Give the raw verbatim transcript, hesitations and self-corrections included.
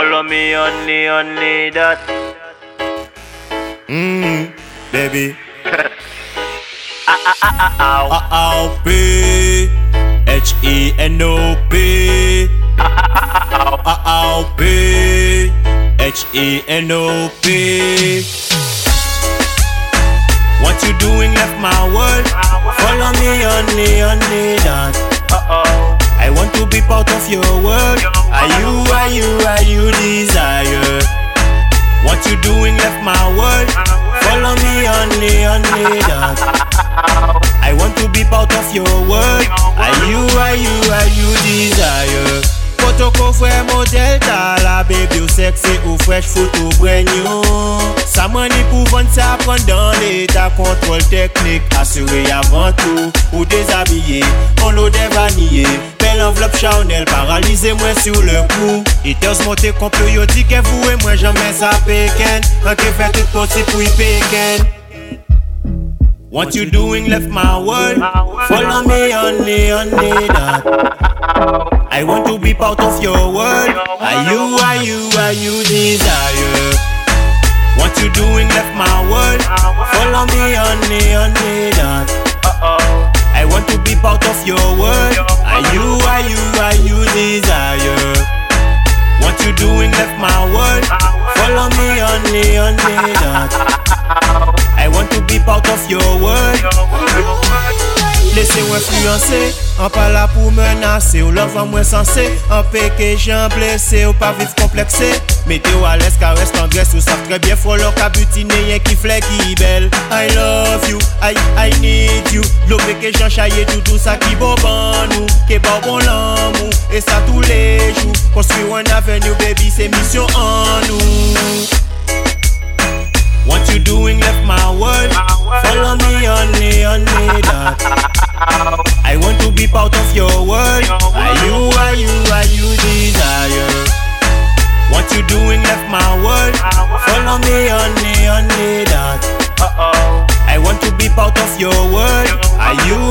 Follow me only, only that. Mmm, baby. Ah ah ah ah ah. A A P H E N O P. A A P H E N O P. What you doing left my world. Follow me only, only that. Uh-oh. I want to be part of your world. Are you, are you, are you desire? What you doing left my world. Follow me only, only that. I want to be part of your world. Are you, are you, are you desire? Photoko frère modèle ta la baby ou sexy ou fresh photo brand new. Sa money pour vendre ça prendre dans l'état contrôle technique assuré avant tout. Ou déshabillé, on l'eau des vanillés. Belle enveloppe Chanel paralysé moi sur le coup. Haters monté complot yo dit que vous et moi jamais ça péken. On te fait tout possible pour y péken. What you doing left my world. Follow me only, only that. I want to be part of your world. Are you, are you, are you desire? What you doing left my world. Follow me only, only that. I want to be part of your world. Are you, are you, are you desire? What you doing left my world. Follow me only, only that. I want to be part of your world. Laissez-moi influencer, en pas là pour menacer. Ou l'enfant moins sensé, en péché j'en blessé. Ou pas vivre complexé, mettez-vous à l'aise, caresse, tendresse. Ou savent très bien, faut l'or qu'à butiner, y'a qui flè qui belle. I love you, I, I need you. L'eau péché j'en chaillé tout, tout ça qui bon bon nous. Qui bon bon l'amour, et ça tous les jours. Construire un avenue, baby, c'est mission en nous. What you doing left my world. Follow me only, only that. I want to be part of your world. Are you, are you, are you desire? What you doing left my world. Follow me only, only that. I want to be part of your world. Are you,